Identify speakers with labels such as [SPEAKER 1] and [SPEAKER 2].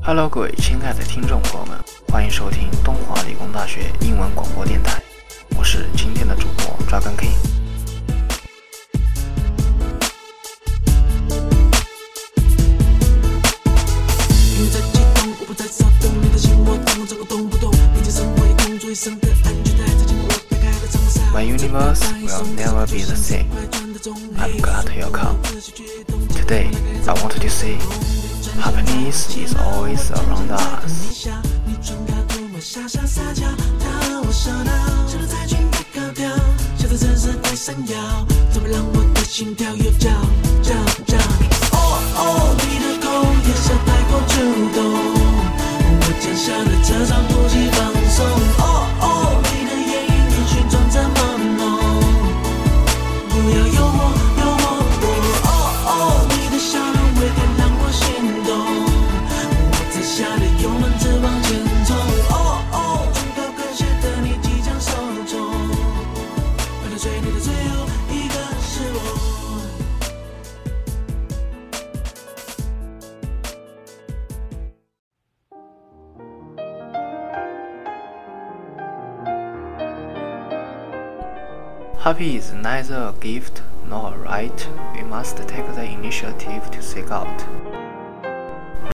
[SPEAKER 1] Hello， 各位亲爱的听众朋友们，欢迎收听东华理工大学英文广播电台，我是今天的主播Dragon King。My universe will never be the same. I'm glad you come. Today, I wanted to say, happiness is always around us. Happy is neither a gift nor a right. We must take the initiative to seek out.